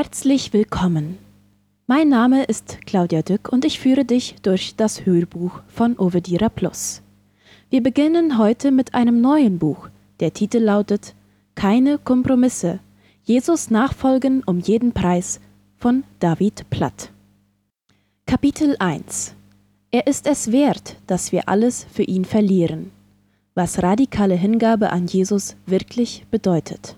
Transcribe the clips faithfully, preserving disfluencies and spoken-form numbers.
Herzlich willkommen. Mein Name ist Claudia Dück und ich führe dich durch das Hörbuch von Ovedira Plus. Wir beginnen heute mit einem neuen Buch. Der Titel lautet Keine Kompromisse. Jesus nachfolgen um jeden Preis von David Platt. Kapitel eins. Er ist es wert, dass wir alles für ihn verlieren. Was radikale Hingabe an Jesus wirklich bedeutet.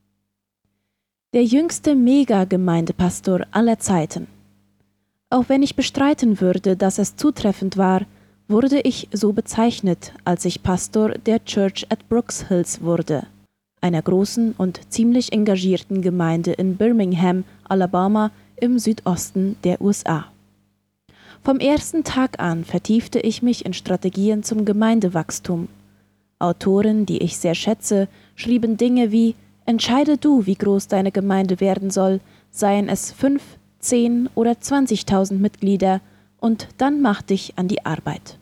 Der jüngste Mega-Gemeindepastor aller Zeiten. Auch wenn ich bestreiten würde, dass es zutreffend war, wurde ich so bezeichnet, als ich Pastor der Church at Brooks Hills wurde, einer großen und ziemlich engagierten Gemeinde in Birmingham, Alabama, im Südosten der U S A. Vom ersten Tag an vertiefte ich mich in Strategien zum Gemeindewachstum. Autoren, die ich sehr schätze, schrieben Dinge wie: Entscheide du, wie groß deine Gemeinde werden soll, seien es fünf, zehn oder zwanzigtausend Mitglieder, und dann mach dich an die Arbeit.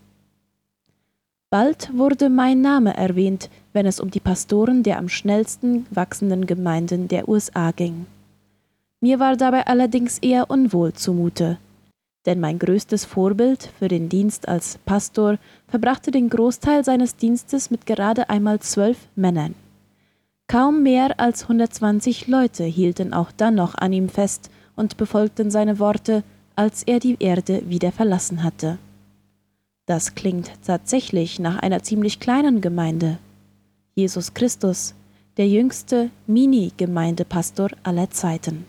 Bald wurde mein Name erwähnt, wenn es um die Pastoren der am schnellsten wachsenden Gemeinden der U S A ging. Mir war dabei allerdings eher unwohl zumute, denn mein größtes Vorbild für den Dienst als Pastor verbrachte den Großteil seines Dienstes mit gerade einmal zwölf Männern. Kaum mehr als hundertzwanzig Leute hielten auch dann noch an ihm fest und befolgten seine Worte, als er die Erde wieder verlassen hatte. Das klingt tatsächlich nach einer ziemlich kleinen Gemeinde. Jesus Christus, der jüngste Mini-Gemeindepastor aller Zeiten.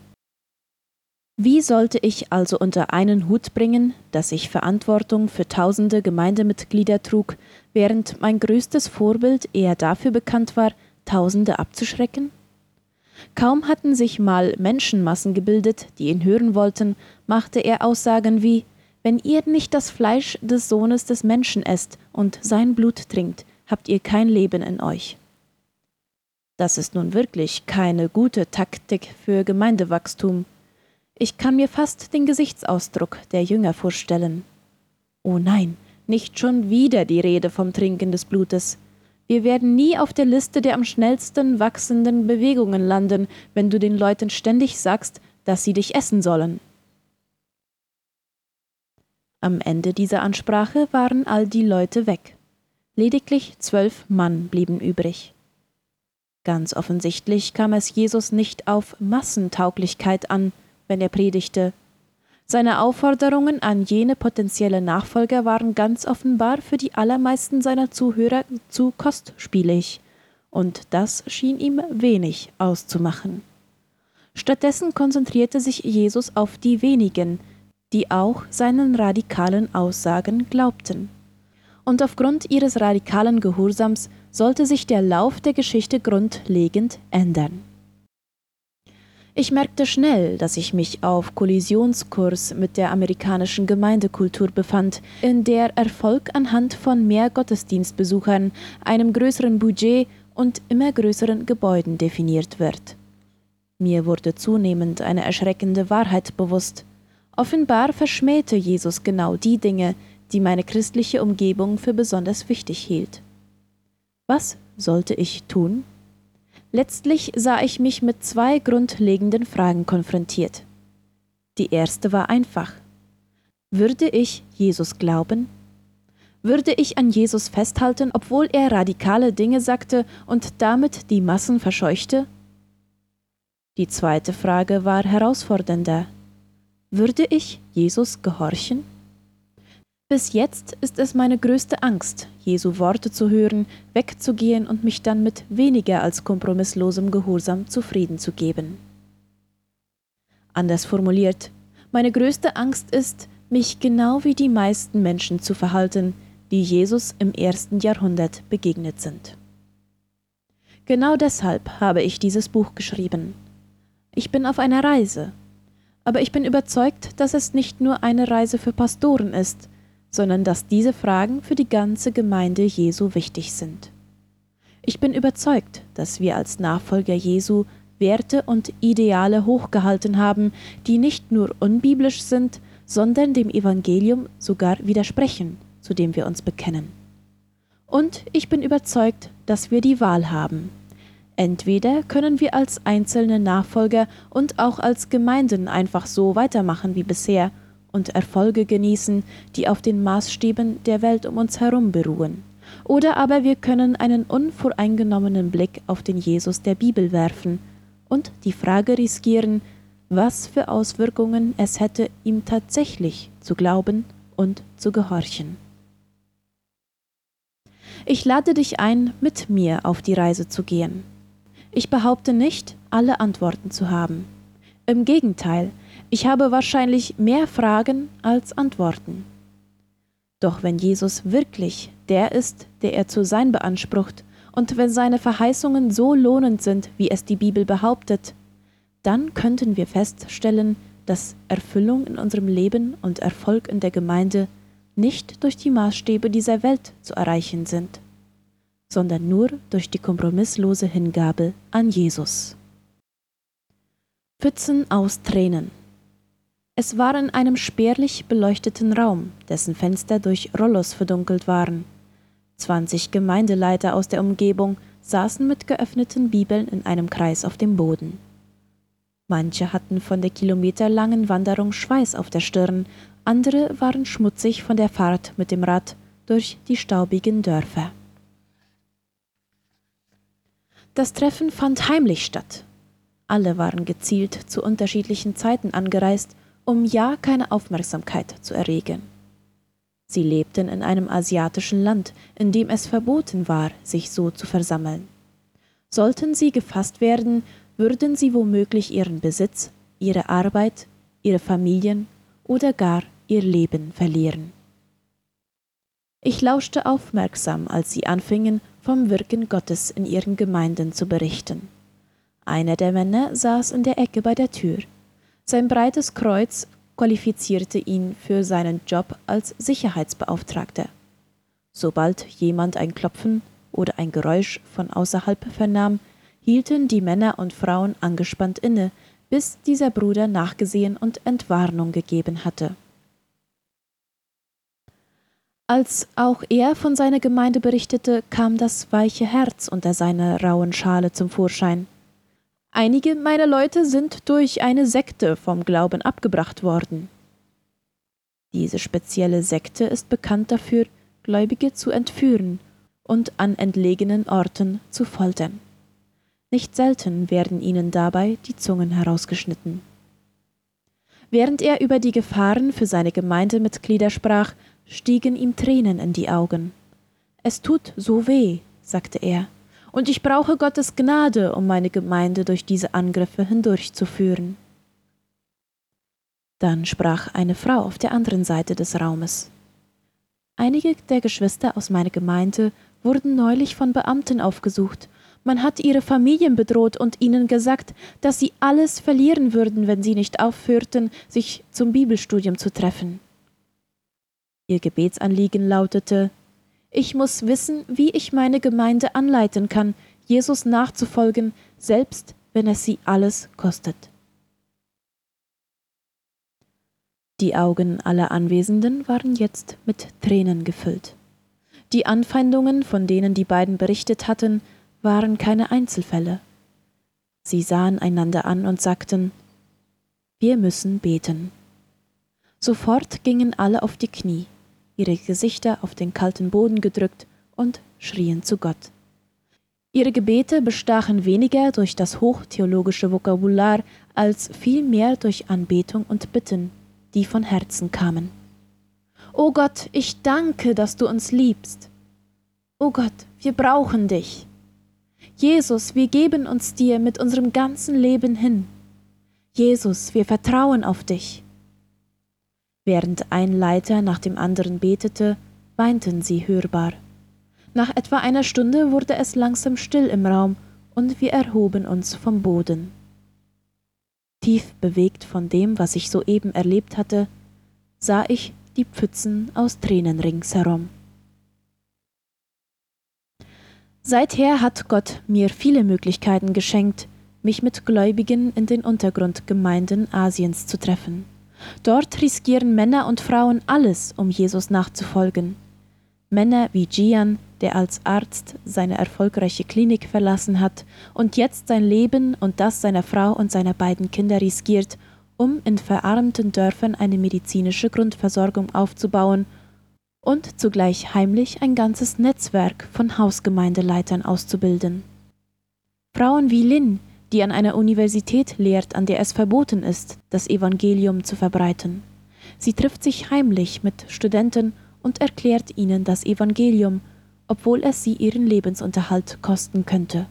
Wie sollte ich also unter einen Hut bringen, dass ich Verantwortung für tausende Gemeindemitglieder trug, während mein größtes Vorbild eher dafür bekannt war, Tausende abzuschrecken? Kaum hatten sich mal Menschenmassen gebildet, die ihn hören wollten, machte er Aussagen wie: Wenn ihr nicht das Fleisch des Sohnes des Menschen esst und sein Blut trinkt, habt ihr kein Leben in euch. Das ist nun wirklich keine gute Taktik für Gemeindewachstum. Ich kann mir fast den Gesichtsausdruck der Jünger vorstellen. Oh nein, nicht schon wieder die Rede vom Trinken des Blutes. Wir werden nie auf der Liste der am schnellsten wachsenden Bewegungen landen, wenn du den Leuten ständig sagst, dass sie dich essen sollen. Am Ende dieser Ansprache waren all die Leute weg. Lediglich zwölf Mann blieben übrig. Ganz offensichtlich kam es Jesus nicht auf Massentauglichkeit an, wenn er predigte. Seine Aufforderungen an jene potenzielle Nachfolger waren ganz offenbar für die allermeisten seiner Zuhörer zu kostspielig, und das schien ihm wenig auszumachen. Stattdessen konzentrierte sich Jesus auf die wenigen, die auch seinen radikalen Aussagen glaubten. Und aufgrund ihres radikalen Gehorsams sollte sich der Lauf der Geschichte grundlegend ändern. Ich merkte schnell, dass ich mich auf Kollisionskurs mit der amerikanischen Gemeindekultur befand, in der Erfolg anhand von mehr Gottesdienstbesuchern, einem größeren Budget und immer größeren Gebäuden definiert wird. Mir wurde zunehmend eine erschreckende Wahrheit bewusst. Offenbar verschmähte Jesus genau die Dinge, die meine christliche Umgebung für besonders wichtig hielt. Was sollte ich tun? Letztlich sah ich mich mit zwei grundlegenden Fragen konfrontiert. Die erste war einfach. Würde ich Jesus glauben? Würde ich an Jesus festhalten, obwohl er radikale Dinge sagte und damit die Massen verscheuchte? Die zweite Frage war herausfordernder. Würde ich Jesus gehorchen? Bis jetzt ist es meine größte Angst, Jesu Worte zu hören, wegzugehen und mich dann mit weniger als kompromisslosem Gehorsam zufrieden zu geben. Anders formuliert, meine größte Angst ist, mich genau wie die meisten Menschen zu verhalten, die Jesus im ersten Jahrhundert begegnet sind. Genau deshalb habe ich dieses Buch geschrieben. Ich bin auf einer Reise, aber ich bin überzeugt, dass es nicht nur eine Reise für Pastoren ist, sondern dass diese Fragen für die ganze Gemeinde Jesu wichtig sind. Ich bin überzeugt, dass wir als Nachfolger Jesu Werte und Ideale hochgehalten haben, die nicht nur unbiblisch sind, sondern dem Evangelium sogar widersprechen, zu dem wir uns bekennen. Und ich bin überzeugt, dass wir die Wahl haben. Entweder können wir als einzelne Nachfolger und auch als Gemeinden einfach so weitermachen wie bisher und Erfolge genießen, die auf den Maßstäben der Welt um uns herum beruhen. Oder aber wir können einen unvoreingenommenen Blick auf den Jesus der Bibel werfen und die Frage riskieren, was für Auswirkungen es hätte, ihm tatsächlich zu glauben und zu gehorchen. Ich lade dich ein, mit mir auf die Reise zu gehen. Ich behaupte nicht, alle Antworten zu haben. Im Gegenteil, ich habe wahrscheinlich mehr Fragen als Antworten. Doch wenn Jesus wirklich der ist, der er zu sein beansprucht, und wenn seine Verheißungen so lohnend sind, wie es die Bibel behauptet, dann könnten wir feststellen, dass Erfüllung in unserem Leben und Erfolg in der Gemeinde nicht durch die Maßstäbe dieser Welt zu erreichen sind, sondern nur durch die kompromisslose Hingabe an Jesus. Pfützen aus Tränen. Es war in einem spärlich beleuchteten Raum, dessen Fenster durch Rollos verdunkelt waren. Zwanzig Gemeindeleiter aus der Umgebung saßen mit geöffneten Bibeln in einem Kreis auf dem Boden. Manche hatten von der kilometerlangen Wanderung Schweiß auf der Stirn, andere waren schmutzig von der Fahrt mit dem Rad durch die staubigen Dörfer. Das Treffen fand heimlich statt. Alle waren gezielt zu unterschiedlichen Zeiten angereist, um ja keine Aufmerksamkeit zu erregen. Sie lebten in einem asiatischen Land, in dem es verboten war, sich so zu versammeln. Sollten sie gefasst werden, würden sie womöglich ihren Besitz, ihre Arbeit, ihre Familien oder gar ihr Leben verlieren. Ich lauschte aufmerksam, als sie anfingen, vom Wirken Gottes in ihren Gemeinden zu berichten. Einer der Männer saß in der Ecke bei der Tür. Sein breites Kreuz qualifizierte ihn für seinen Job als Sicherheitsbeauftragter. Sobald jemand ein Klopfen oder ein Geräusch von außerhalb vernahm, hielten die Männer und Frauen angespannt inne, bis dieser Bruder nachgesehen und Entwarnung gegeben hatte. Als auch er von seiner Gemeinde berichtete, kam das weiche Herz unter seiner rauen Schale zum Vorschein. Einige meiner Leute sind durch eine Sekte vom Glauben abgebracht worden. Diese spezielle Sekte ist bekannt dafür, Gläubige zu entführen und an entlegenen Orten zu foltern. Nicht selten werden ihnen dabei die Zungen herausgeschnitten. Während er über die Gefahren für seine Gemeindemitglieder sprach, stiegen ihm Tränen in die Augen. »Es tut so weh«, sagte er, »und ich brauche Gottes Gnade, um meine Gemeinde durch diese Angriffe hindurchzuführen.« Dann sprach eine Frau auf der anderen Seite des Raumes. »Einige der Geschwister aus meiner Gemeinde wurden neulich von Beamten aufgesucht. Man hat ihre Familien bedroht und ihnen gesagt, dass sie alles verlieren würden, wenn sie nicht aufhörten, sich zum Bibelstudium zu treffen. Ihr Gebetsanliegen lautete: Ich muss wissen, wie ich meine Gemeinde anleiten kann, Jesus nachzufolgen, selbst wenn es sie alles kostet. Die Augen aller Anwesenden waren jetzt mit Tränen gefüllt. Die Anfeindungen, von denen die beiden berichtet hatten, waren keine Einzelfälle. Sie sahen einander an und sagten: Wir müssen beten. Sofort gingen alle auf die Knie, ihre Gesichter auf den kalten Boden gedrückt und schrien zu Gott. Ihre Gebete bestachen weniger durch das hochtheologische Vokabular als vielmehr durch Anbetung und Bitten, die von Herzen kamen. »O Gott, ich danke, dass du uns liebst. O Gott, wir brauchen dich. Jesus, wir geben uns dir mit unserem ganzen Leben hin. Jesus, wir vertrauen auf dich.« Während ein Leiter nach dem anderen betete, weinten sie hörbar. Nach etwa einer Stunde wurde es langsam still im Raum und wir erhoben uns vom Boden. Tief bewegt von dem, was ich soeben erlebt hatte, sah ich die Pfützen aus Tränen ringsherum. Seither hat Gott mir viele Möglichkeiten geschenkt, mich mit Gläubigen in den Untergrundgemeinden Asiens zu treffen. Dort riskieren Männer und Frauen alles, um Jesus nachzufolgen. Männer wie Jian, der als Arzt seine erfolgreiche Klinik verlassen hat und jetzt sein Leben und das seiner Frau und seiner beiden Kinder riskiert, um in verarmten Dörfern eine medizinische Grundversorgung aufzubauen und zugleich heimlich ein ganzes Netzwerk von Hausgemeindeleitern auszubilden. Frauen wie Lynn, die an einer Universität lehrt, an der es verboten ist, das Evangelium zu verbreiten. Sie trifft sich heimlich mit Studenten und erklärt ihnen das Evangelium, obwohl es sie ihren Lebensunterhalt kosten könnte.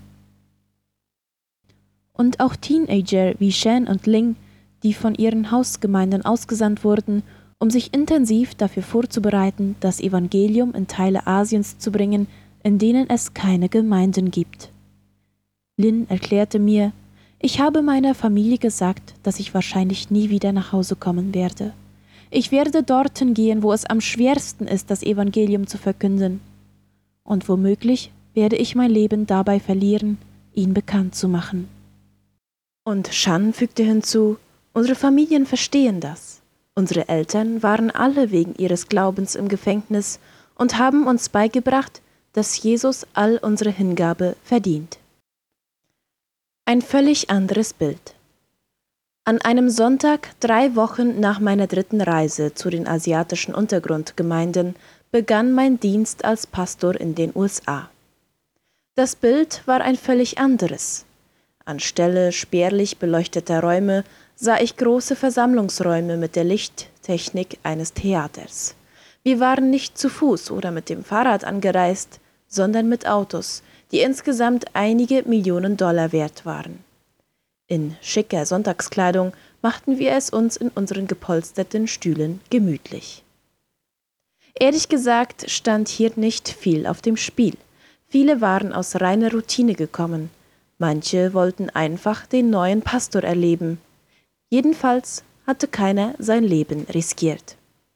Und auch Teenager wie Shan und Ling, die von ihren Hausgemeinden ausgesandt wurden, um sich intensiv dafür vorzubereiten, das Evangelium in Teile Asiens zu bringen, in denen es keine Gemeinden gibt. Lynn erklärte mir, ich habe meiner Familie gesagt, dass ich wahrscheinlich nie wieder nach Hause kommen werde. Ich werde dorthin gehen, wo es am schwersten ist, das Evangelium zu verkünden. Und womöglich werde ich mein Leben dabei verlieren, ihn bekannt zu machen. Und Shan fügte hinzu, unsere Familien verstehen das. Unsere Eltern waren alle wegen ihres Glaubens im Gefängnis und haben uns beigebracht, dass Jesus all unsere Hingabe verdient. Ein völlig anderes Bild. An einem Sonntag, drei Wochen nach meiner dritten Reise zu den asiatischen Untergrundgemeinden, begann mein Dienst als Pastor in den U S A. Das Bild war ein völlig anderes. Anstelle spärlich beleuchteter Räume sah ich große Versammlungsräume mit der Lichttechnik eines Theaters. Wir waren nicht zu Fuß oder mit dem Fahrrad angereist, sondern mit Autos, die insgesamt einige Millionen Dollar wert waren. In schicker Sonntagskleidung machten wir es uns in unseren gepolsterten Stühlen gemütlich. Ehrlich gesagt stand hier nicht viel auf dem Spiel. Viele waren aus reiner Routine gekommen. Manche wollten einfach den neuen Pastor erleben. Jedenfalls hatte keiner sein Leben riskiert.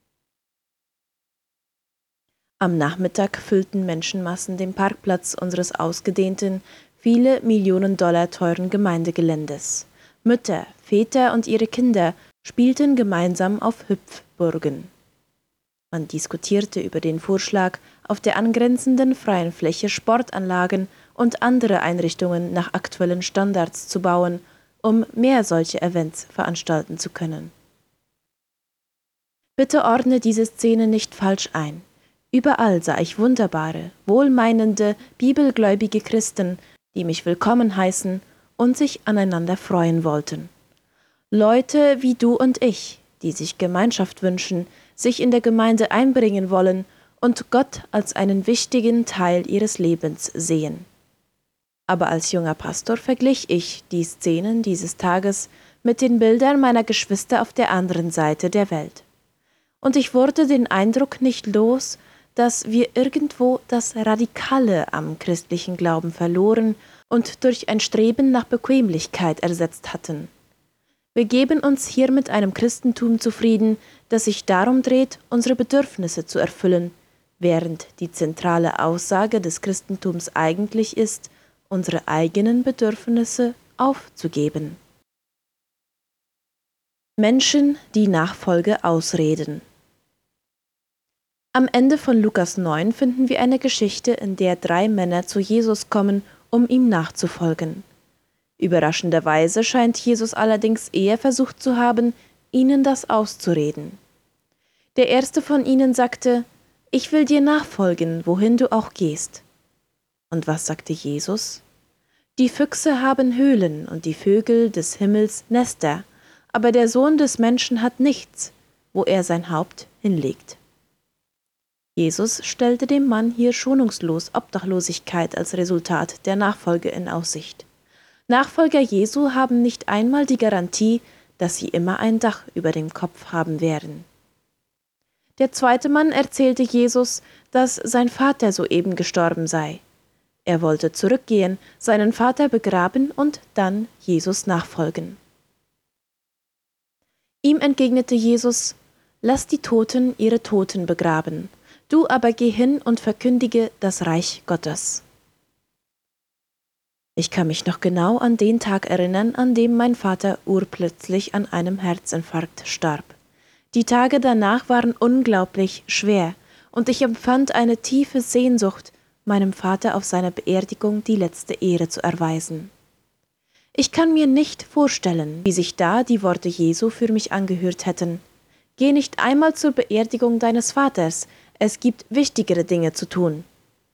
Am Nachmittag füllten Menschenmassen den Parkplatz unseres ausgedehnten, viele Millionen Dollar teuren Gemeindegeländes. Mütter, Väter und ihre Kinder spielten gemeinsam auf Hüpfburgen. Man diskutierte über den Vorschlag, auf der angrenzenden freien Fläche Sportanlagen und andere Einrichtungen nach aktuellen Standards zu bauen, um mehr solche Events veranstalten zu können. Bitte ordne diese Szene nicht falsch ein. Überall sah ich wunderbare, wohlmeinende, bibelgläubige Christen, die mich willkommen heißen und sich aneinander freuen wollten. Leute wie du und ich, die sich Gemeinschaft wünschen, sich in der Gemeinde einbringen wollen und Gott als einen wichtigen Teil ihres Lebens sehen. Aber als junger Pastor verglich ich die Szenen dieses Tages mit den Bildern meiner Geschwister auf der anderen Seite der Welt. Und ich wurde den Eindruck nicht los, dass wir irgendwo das Radikale am christlichen Glauben verloren und durch ein Streben nach Bequemlichkeit ersetzt hatten. Wir geben uns hier mit einem Christentum zufrieden, das sich darum dreht, unsere Bedürfnisse zu erfüllen, während die zentrale Aussage des Christentums eigentlich ist, unsere eigenen Bedürfnisse aufzugeben. Menschen, die Nachfolge ausreden. Am Ende von Lukas neun finden wir eine Geschichte, in der drei Männer zu Jesus kommen, um ihm nachzufolgen. Überraschenderweise scheint Jesus allerdings eher versucht zu haben, ihnen das auszureden. Der erste von ihnen sagte, »Ich will dir nachfolgen, wohin du auch gehst.« Und was sagte Jesus? »Die Füchse haben Höhlen und die Vögel des Himmels Nester, aber der Sohn des Menschen hat nichts, wo er sein Haupt hinlegt.« Jesus stellte dem Mann hier schonungslos Obdachlosigkeit als Resultat der Nachfolge in Aussicht. Nachfolger Jesu haben nicht einmal die Garantie, dass sie immer ein Dach über dem Kopf haben werden. Der zweite Mann erzählte Jesus, dass sein Vater soeben gestorben sei. Er wollte zurückgehen, seinen Vater begraben und dann Jesus nachfolgen. Ihm entgegnete Jesus, »Lass die Toten ihre Toten begraben, du aber geh hin und verkündige das Reich Gottes.« Ich kann mich noch genau an den Tag erinnern, an dem mein Vater urplötzlich an einem Herzinfarkt starb. Die Tage danach waren unglaublich schwer und ich empfand eine tiefe Sehnsucht, meinem Vater auf seiner Beerdigung die letzte Ehre zu erweisen. Ich kann mir nicht vorstellen, wie sich da die Worte Jesu für mich angehört hätten. Geh nicht einmal zur Beerdigung deines Vaters, es gibt wichtigere Dinge zu tun.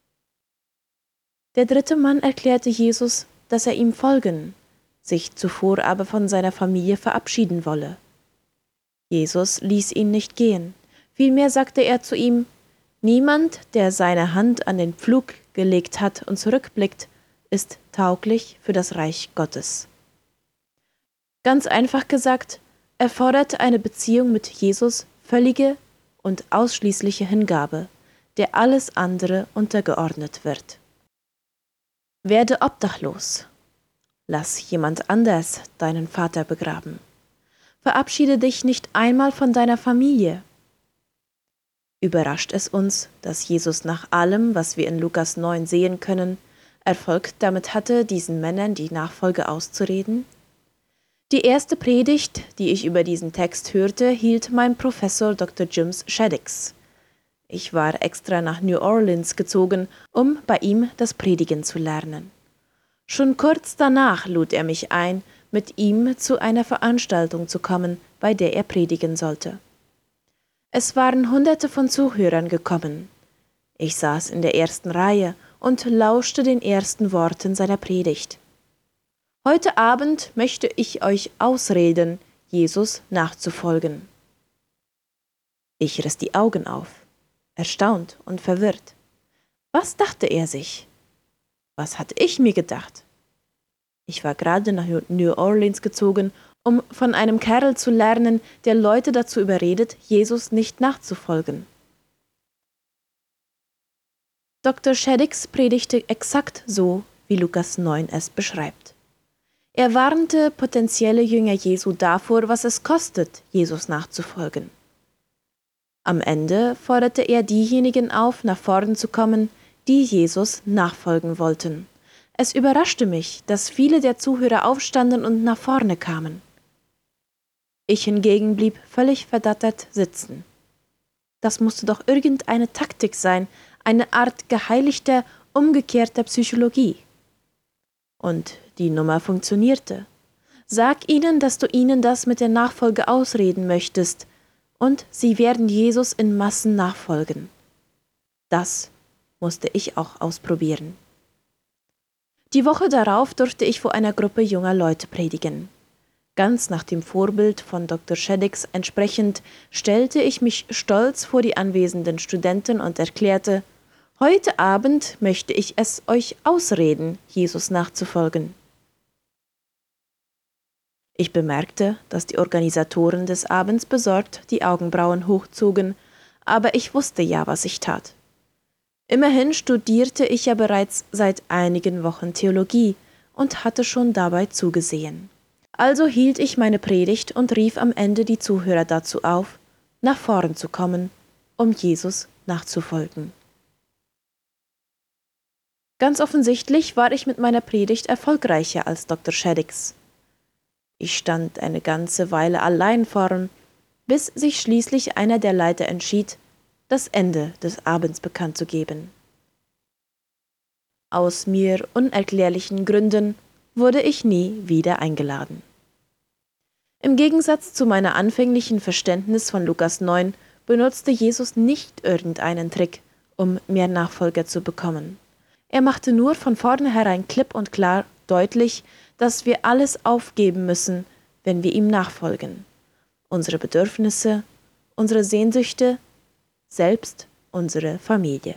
Der dritte Mann erklärte Jesus, dass er ihm folgen, sich zuvor aber von seiner Familie verabschieden wolle. Jesus ließ ihn nicht gehen, vielmehr sagte er zu ihm: Niemand, der seine Hand an den Pflug gelegt hat und zurückblickt, ist tauglich für das Reich Gottes. Ganz einfach gesagt, erfordert eine Beziehung mit Jesus völlige und ausschließliche Hingabe, der alles andere untergeordnet wird. Werde obdachlos. Lass jemand anders deinen Vater begraben. Verabschiede dich nicht einmal von deiner Familie. Überrascht es uns, dass Jesus nach allem, was wir in Lukas neun sehen können, Erfolg damit hatte, diesen Männern die Nachfolge auszureden? Die erste Predigt, die ich über diesen Text hörte, hielt mein Professor Doktor James Shaddix. Ich war extra nach New Orleans gezogen, um bei ihm das Predigen zu lernen. Schon kurz danach lud er mich ein, mit ihm zu einer Veranstaltung zu kommen, bei der er predigen sollte. Es waren Hunderte von Zuhörern gekommen. Ich saß in der ersten Reihe und lauschte den ersten Worten seiner Predigt. Heute Abend möchte ich euch ausreden, Jesus nachzufolgen. Ich riss die Augen auf, erstaunt und verwirrt. Was dachte er sich? Was hatte ich mir gedacht? Ich war gerade nach New Orleans gezogen, um von einem Kerl zu lernen, der Leute dazu überredet, Jesus nicht nachzufolgen. Doktor Shaddix predigte exakt so, wie Lukas neun es beschreibt. Er warnte potenzielle Jünger Jesu davor, was es kostet, Jesus nachzufolgen. Am Ende forderte er diejenigen auf, nach vorn zu kommen, die Jesus nachfolgen wollten. Es überraschte mich, dass viele der Zuhörer aufstanden und nach vorne kamen. Ich hingegen blieb völlig verdattert sitzen. Das musste doch irgendeine Taktik sein, eine Art geheiligter, umgekehrter Psychologie. Und die Nummer funktionierte. Sag ihnen, dass du ihnen das mit der Nachfolge ausreden möchtest, und sie werden Jesus in Massen nachfolgen. Das musste ich auch ausprobieren. Die Woche darauf durfte ich vor einer Gruppe junger Leute predigen. Ganz nach dem Vorbild von Doktor Shaddix entsprechend stellte ich mich stolz vor die anwesenden Studenten und erklärte: Heute Abend möchte ich es euch ausreden, Jesus nachzufolgen. Ich bemerkte, dass die Organisatoren des Abends besorgt die Augenbrauen hochzogen, aber ich wusste ja, was ich tat. Immerhin studierte ich ja bereits seit einigen Wochen Theologie und hatte schon dabei zugesehen. Also hielt ich meine Predigt und rief am Ende die Zuhörer dazu auf, nach vorn zu kommen, um Jesus nachzufolgen. Ganz offensichtlich war ich mit meiner Predigt erfolgreicher als Doktor Shaddix. Ich stand eine ganze Weile allein vorn, bis sich schließlich einer der Leiter entschied, das Ende des Abends bekannt zu geben. Aus mir unerklärlichen Gründen wurde ich nie wieder eingeladen. Im Gegensatz zu meiner anfänglichen Verständnis von Lukas neun benutzte Jesus nicht irgendeinen Trick, um mehr Nachfolger zu bekommen. Er machte nur von vornherein klipp und klar deutlich, dass wir alles aufgeben müssen, wenn wir ihm nachfolgen. Unsere Bedürfnisse, unsere Sehnsüchte, selbst unsere Familie.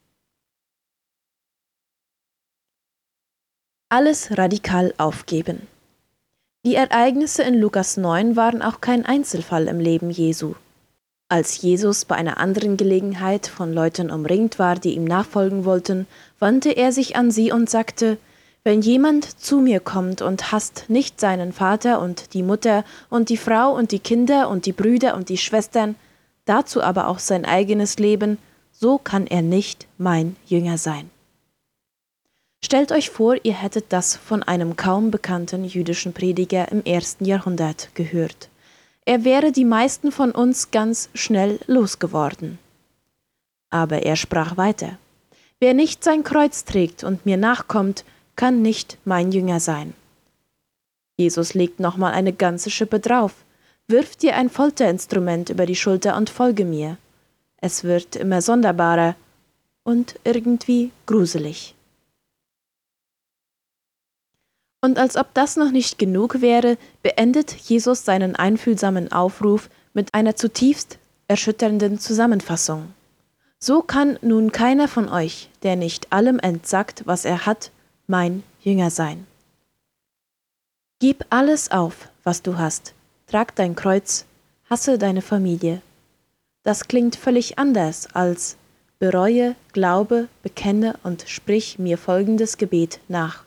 Alles radikal aufgeben. Die Ereignisse in Lukas neun waren auch kein Einzelfall im Leben Jesu. Als Jesus bei einer anderen Gelegenheit von Leuten umringt war, die ihm nachfolgen wollten, wandte er sich an sie und sagte: Wenn jemand zu mir kommt und hasst nicht seinen Vater und die Mutter und die Frau und die Kinder und die Brüder und die Schwestern, dazu aber auch sein eigenes Leben, so kann er nicht mein Jünger sein. Stellt euch vor, ihr hättet das von einem kaum bekannten jüdischen Prediger im ersten Jahrhundert gehört. Er wäre die meisten von uns ganz schnell losgeworden. Aber er sprach weiter: Wer nicht sein Kreuz trägt und mir nachkommt, kann nicht mein Jünger sein. Jesus legt nochmal eine ganze Schippe drauf. Wirf dir ein Folterinstrument über die Schulter und folge mir. Es wird immer sonderbarer und irgendwie gruselig. Und als ob das noch nicht genug wäre, beendet Jesus seinen einfühlsamen Aufruf mit einer zutiefst erschütternden Zusammenfassung. So kann nun keiner von euch, der nicht allem entsagt, was er hat, mein Jünger sein. Gib alles auf, was du hast, trag dein Kreuz, hasse deine Familie. Das klingt völlig anders als bereue, glaube, bekenne und sprich mir folgendes Gebet nach.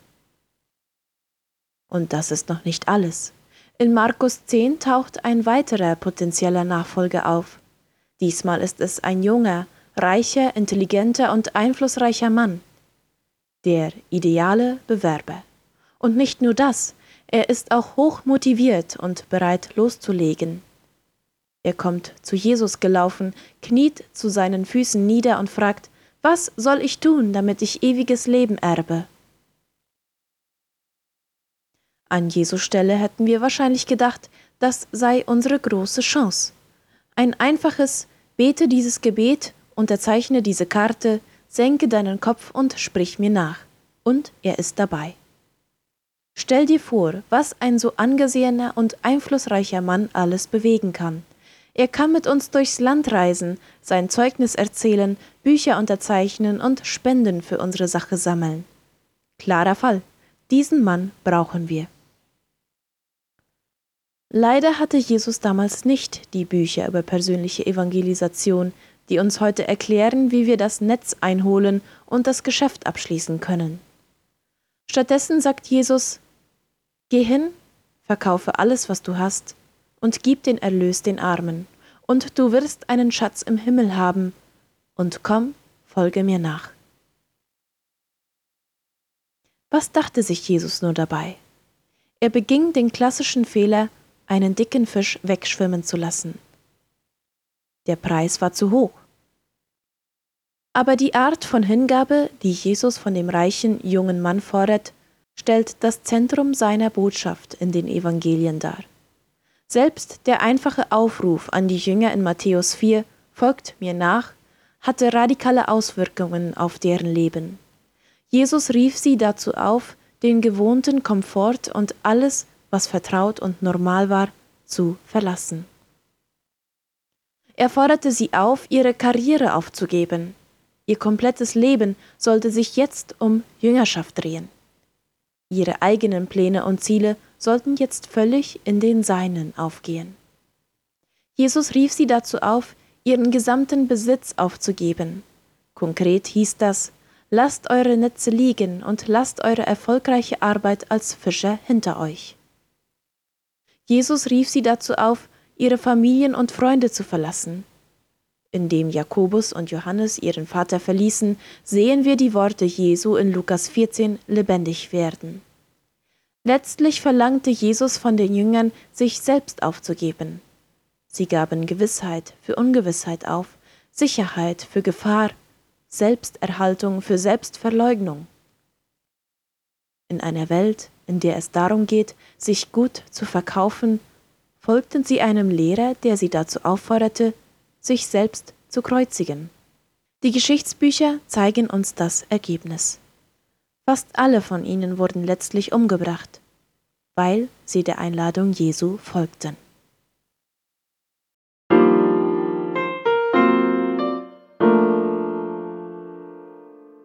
Und das ist noch nicht alles. In Markus zehn taucht ein weiterer potenzieller Nachfolger auf. Diesmal ist es ein junger, reicher, intelligenter und einflussreicher Mann. Der ideale Bewerber. Und nicht nur das, er ist auch hoch motiviert und bereit loszulegen. Er kommt zu Jesus gelaufen, kniet zu seinen Füßen nieder und fragt, was soll ich tun, damit ich ewiges Leben erbe? An Jesu Stelle hätten wir wahrscheinlich gedacht, das sei unsere große Chance. Ein einfaches Bete dieses Gebet, unterzeichne diese Karte, senke deinen Kopf und sprich mir nach. Und er ist dabei. Stell dir vor, was ein so angesehener und einflussreicher Mann alles bewegen kann. Er kann mit uns durchs Land reisen, sein Zeugnis erzählen, Bücher unterzeichnen und Spenden für unsere Sache sammeln. Klarer Fall. Diesen Mann brauchen wir. Leider hatte Jesus damals nicht die Bücher über persönliche Evangelisation, die uns heute erklären, wie wir das Netz einholen und das Geschäft abschließen können. Stattdessen sagt Jesus, geh hin, verkaufe alles, was du hast, und gib den Erlös den Armen, und du wirst einen Schatz im Himmel haben, und komm, folge mir nach. Was dachte sich Jesus nur dabei? Er beging den klassischen Fehler, einen dicken Fisch wegschwimmen zu lassen. Der Preis war zu hoch. Aber die Art von Hingabe, die Jesus von dem reichen jungen Mann fordert, stellt das Zentrum seiner Botschaft in den Evangelien dar. Selbst der einfache Aufruf an die Jünger in Matthäus vier, folgt mir nach, hatte radikale Auswirkungen auf deren Leben. Jesus rief sie dazu auf, den gewohnten Komfort und alles, was vertraut und normal war, zu verlassen. Er forderte sie auf, ihre Karriere aufzugeben. Ihr komplettes Leben sollte sich jetzt um Jüngerschaft drehen. Ihre eigenen Pläne und Ziele sollten jetzt völlig in den Seinen aufgehen. Jesus rief sie dazu auf, ihren gesamten Besitz aufzugeben. Konkret hieß das, lasst eure Netze liegen und lasst eure erfolgreiche Arbeit als Fischer hinter euch. Jesus rief sie dazu auf, ihre Familien und Freunde zu verlassen. Indem Jakobus und Johannes ihren Vater verließen, sehen wir die Worte Jesu in Lukas vierzehn lebendig werden. Letztlich verlangte Jesus von den Jüngern, sich selbst aufzugeben. Sie gaben Gewissheit für Ungewissheit auf, Sicherheit für Gefahr, Selbsterhaltung für Selbstverleugnung. In einer Welt, in der es darum geht, sich gut zu verkaufen, folgten sie einem Lehrer, der sie dazu aufforderte, sich selbst zu kreuzigen. Die Geschichtsbücher zeigen uns das Ergebnis. Fast alle von ihnen wurden letztlich umgebracht, weil sie der Einladung Jesu folgten.